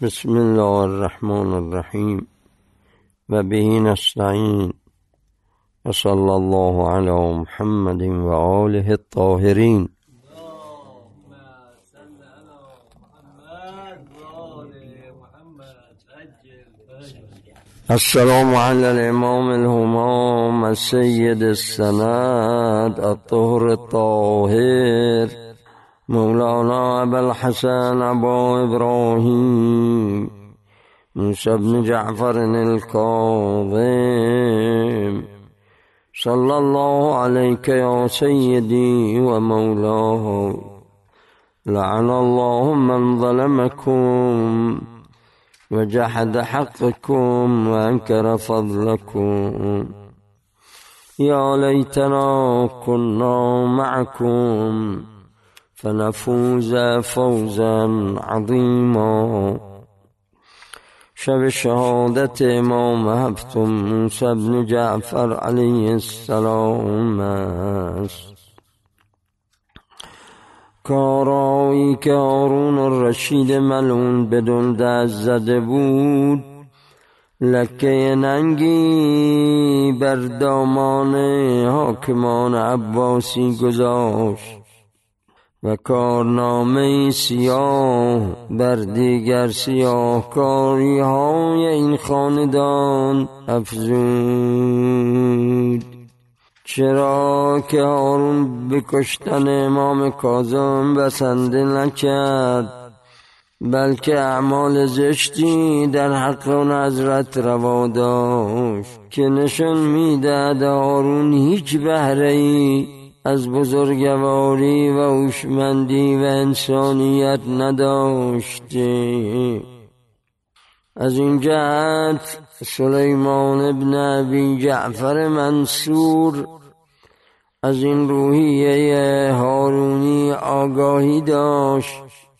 بسم الله الرحمن الرحیم و به نستعین و صلی الله علی محمد و آله الطاهرین. السلام علی الامام الهمام السید السند الطهر الطاهر مولانا ابوالحسن ابا ابراهیم موسی بن جعفر الكاظم صلی الله علیک یا سیدی و مولاه. لعن الله من ظلمکم و جحد حقكم و انکر فضلكم. یا لیتنا كنا معكم فنفوز فوزا عظیما. شب شهادت امام هفتم موسی بن جعفر علیه السلام است. کارایی که هارون الرشید ملعون بدون دست زده بود لکه ننگی بر دامان حاکمان عباسی گذاشت و کارنامه سیاه بر دیگر سیاهکاری های این خاندان افزود. چرا که هارون به کشتن امام کاظم بسنده نکرد، بلکه اعمال زشتی در حق اون حضرت روا داشت که نشان میدهد هارون هیچ بهره‌ای از بزرگواری و هوشمندی و انسانیت نداشته. از این جهت سلیمان ابن ابی جعفر منصور از این روحیه هارونی آگاهی داشت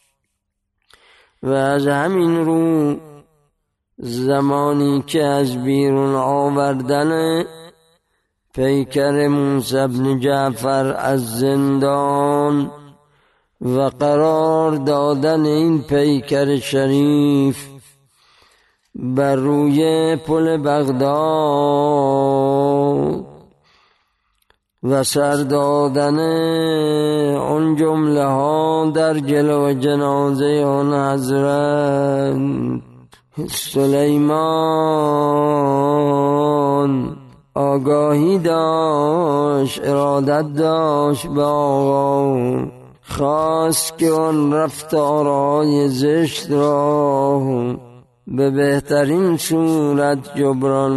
و از همین رو زمانی که از بیرون آوردن پیکر موسی بن جعفر از زندان و قرار دادن این پیکر شریف بر روی پل بغداد و سر دادن اون جمله ها در جلو جنازه آن حضرت سلیمان آگاهی داشت، ارادت داشت به آقا، خواست که آن رفتارهای زشت را به بهترین صورت جبران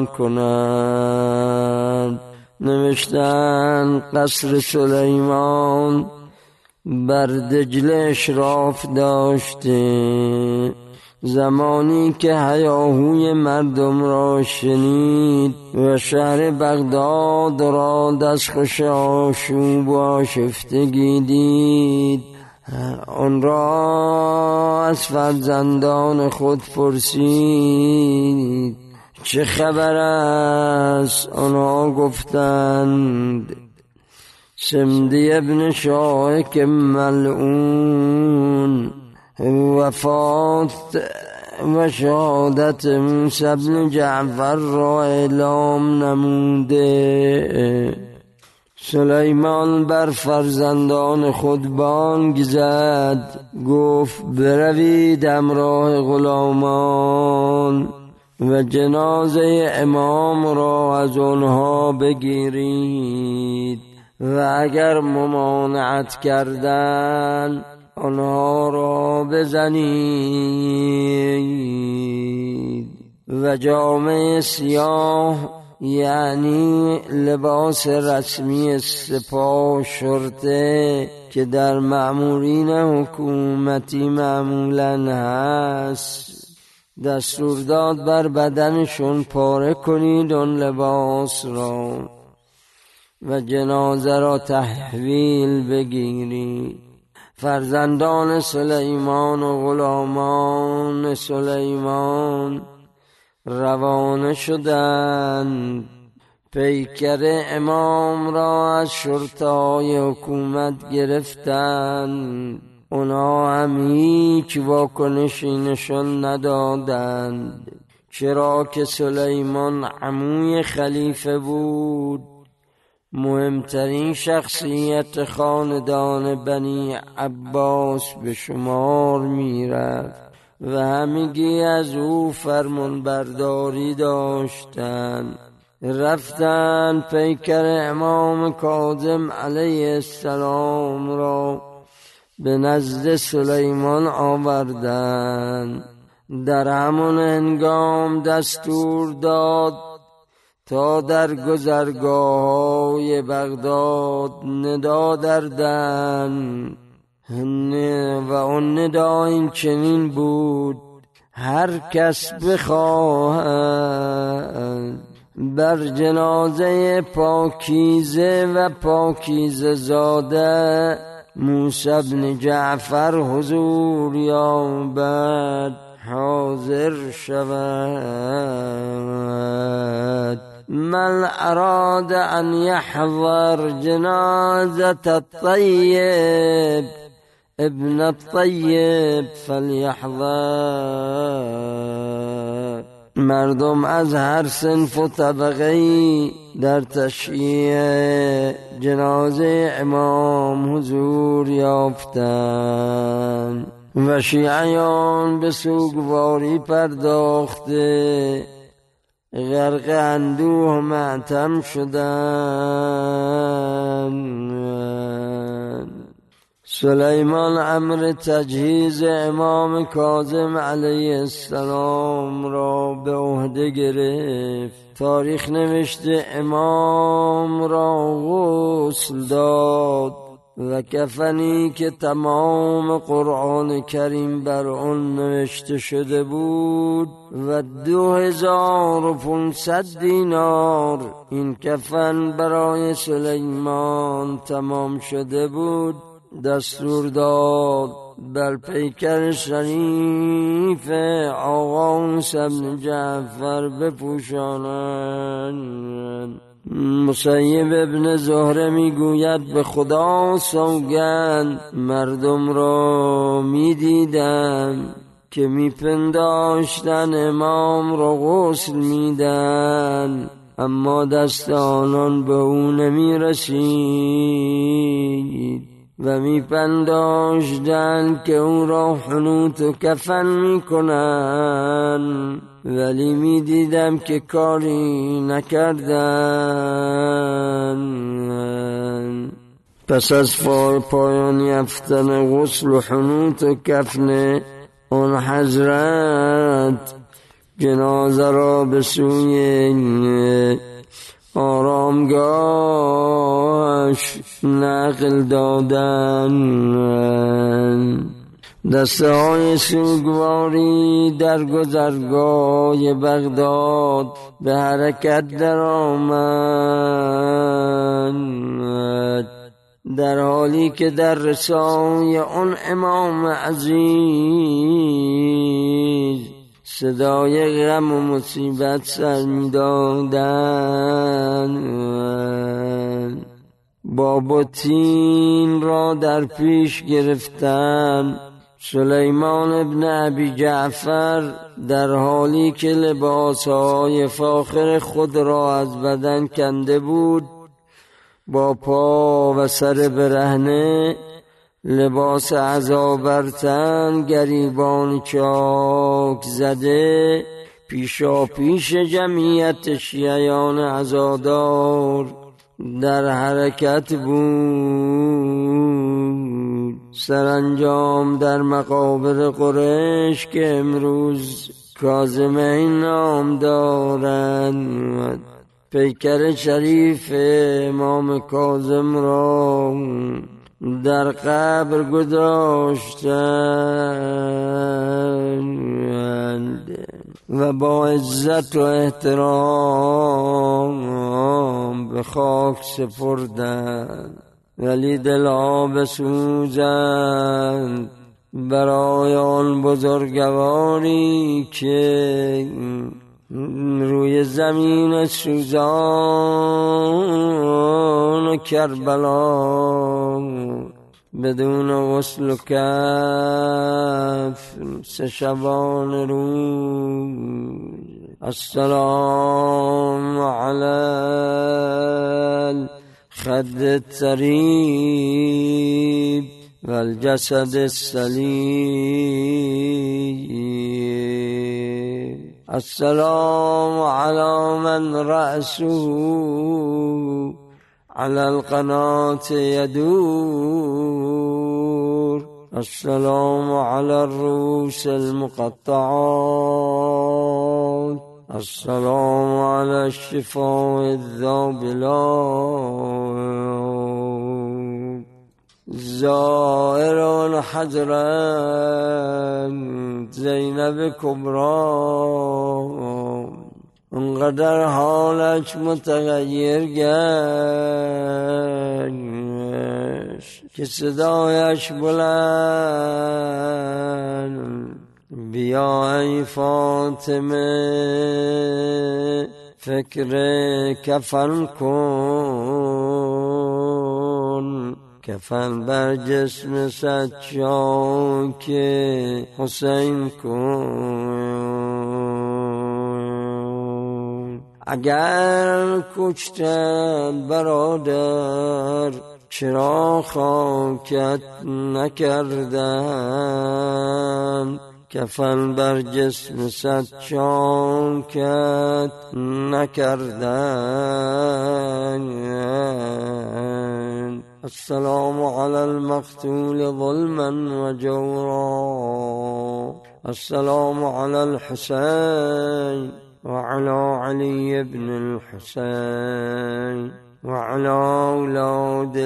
کند. نوشتن قصر سلیمان بر دجله اشراف داشته. زمانی که هیاهوی مردم را شنید و شهر بغداد را دستخوش آشوب و آشفتگی دید، آن را از فرزندان خود پرسید چه خبر است؟ آنها گفتند سمدی ابن شاهک ملعون وفات و شهادت موسی بن جعفر را اعلام نموده. سلیمان بر فرزندان خود بانگ زد، گفت بروید همراه غلامان و جنازه امام را از آنها بگیرید و اگر ممانعت کردند آنها را بزنید و جامه سیاه یعنی لباس رسمی سپاه شرطه که در مأمورین حکومتی معمولاً هست دستور داد بر بدنشون پاره کنید آن لباس را و جنازه را تحویل بگیرید. فرزندان سلیمان و غلامان سلیمان روانه شدند. پیکر امام را از شرطه‌های حکومت گرفتند اونا هم هیچ واکنشی نشان ندادند، چرا که سلیمان عموی خلیفه بود، مهمترین شخصیت خاندان بنی عباس به شمار می رفت و همگی از او فرمان برداری داشتند. رفتن پیکر امام کاظم علیه السلام را به نزد سلیمان آوردند. در همان هنگام دستور داد تا در گذرگاه‌های بغداد ندا دردن و آن ندا این چنین بود: هر کس بخواهد بر جنازه پاکیزه و پاکیزه زاده موسی بن جعفر حضور یابد حاضر شود. من اراد ان يحضر جنازة الطيب ابن الطيب فليحضر. مردم از هر صنف و طبقه‌ای در تشییع جنازه امام حضور یافتند و شیعیان به سوگواری پرداخته غرق اندوه ماتم شدند. سلیمان امر تجهیز امام کاظم علیه السلام را به عهده گرفت. تاریخ نوشته امام را غسل داد و کفنی که تمام قرآن کریم بر آن نوشته شده بود و 2500 دینار این کفن برای سلیمان تمام شده بود. دستور داد بر پیکر شریف آقا موسی بن جعفر بپوشانند. مسیب ابن زهره میگوید به خدا سوگند مردم را میدیدم که میپنداشتن امام را غسل میدن، اما دست آنان به او نمیرسید و میپنداشتن که او را حنوط و کفن میکنن، ولی میدیدم که کاری نکردن. پس از پایان یافتن غسل و حنوط و کفن آن حضرت جنازه را به سوی آرامگاهش نقل دادن. دسته های سوگواری در گذرگاه بغداد به حرکت در آمد، در حالی که در رسای آن امام عزیز صدای غم و مصیبت سر می دادن. بابتین را در پیش گرفتن. سلیمان ابن ابی جعفر در حالی که لباسهای فاخر خود را از بدن کنده بود، با پا و سر برهنه، لباس عزا بر تن، گریبان چاک زده، پیشا پیش جمعیت شیعیان عزادار در حرکت بود. سرانجام در مقابر قریش که امروز کاظمین نام دارند، پیکر شریف امام کاظم را در قبر گذاشتند و با عزت و احترام به خاک سپردند، ولی دلها بسوزند برای آن بزرگواری که روی زمین سوزان کربلا بدون غسل کف 3 شبانه روز. السلام علی الخد الطریب و الجسد السلیم. السلام علی من رأسه على القناة يدور. السلام على الرؤوس المقطعات. السلام على الشفاء الذابلات. زائران حضرت زینب کبری انقدر حالش متغیر گشت که صدایش بلند: بیا ای فاطمه فکر کفن کن، کفن بر جسم سجاک حسین کن. اگر کشتن برادر چرا خاکت نکردن؟ کفن بر جسم سجاکت نکردن. السلام علی المقتول ظلما و جورا. السلام علی الحسین وعلى علي بن الحسين وعلى أولاد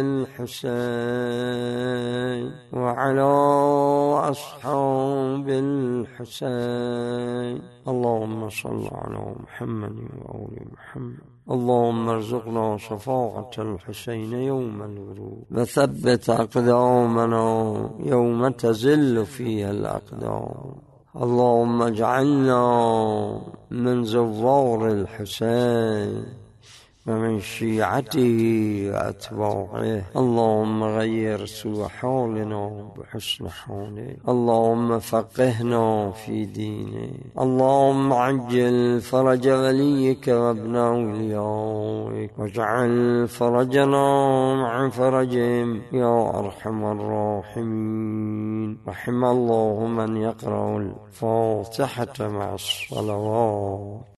الحسين وعلى أصحاب الحسين. اللهم صل على محمد وآل محمد. اللهم ارزقنا شفاعة الحسين يوم الغروب وثبت أقدامنا يوم تزل فيها الأقدام. اللهم اجعلنا من زوار الحسين ومن شيعته وأتباعه. اللهم غير سوء حالنا بحسن حاله. اللهم فقهنا في دينه. اللهم عجل فرج وليك وابن أوليائك واجعل فرجنا مع فرجهم يا أرحم الراحمين. رحم الله من يقرأ الفاتحة مع الصلوات.